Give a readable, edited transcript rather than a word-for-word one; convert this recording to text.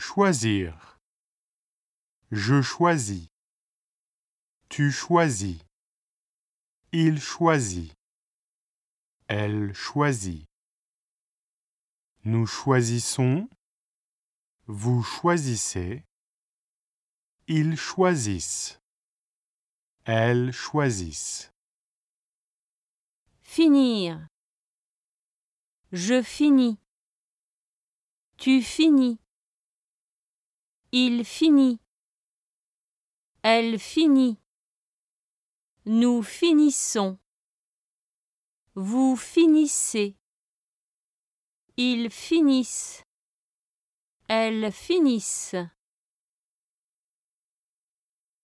Choisir. Je choisis. Tu choisis. Il choisit. Elle choisit. Nous choisissons. Vous choisissez. Ils choisissent. Elles choisissent. Finir. Je finis. Tu finis. Il finit. Elle finit. Nous finissons. Vous finissez. Ils finissent. Elles finissent.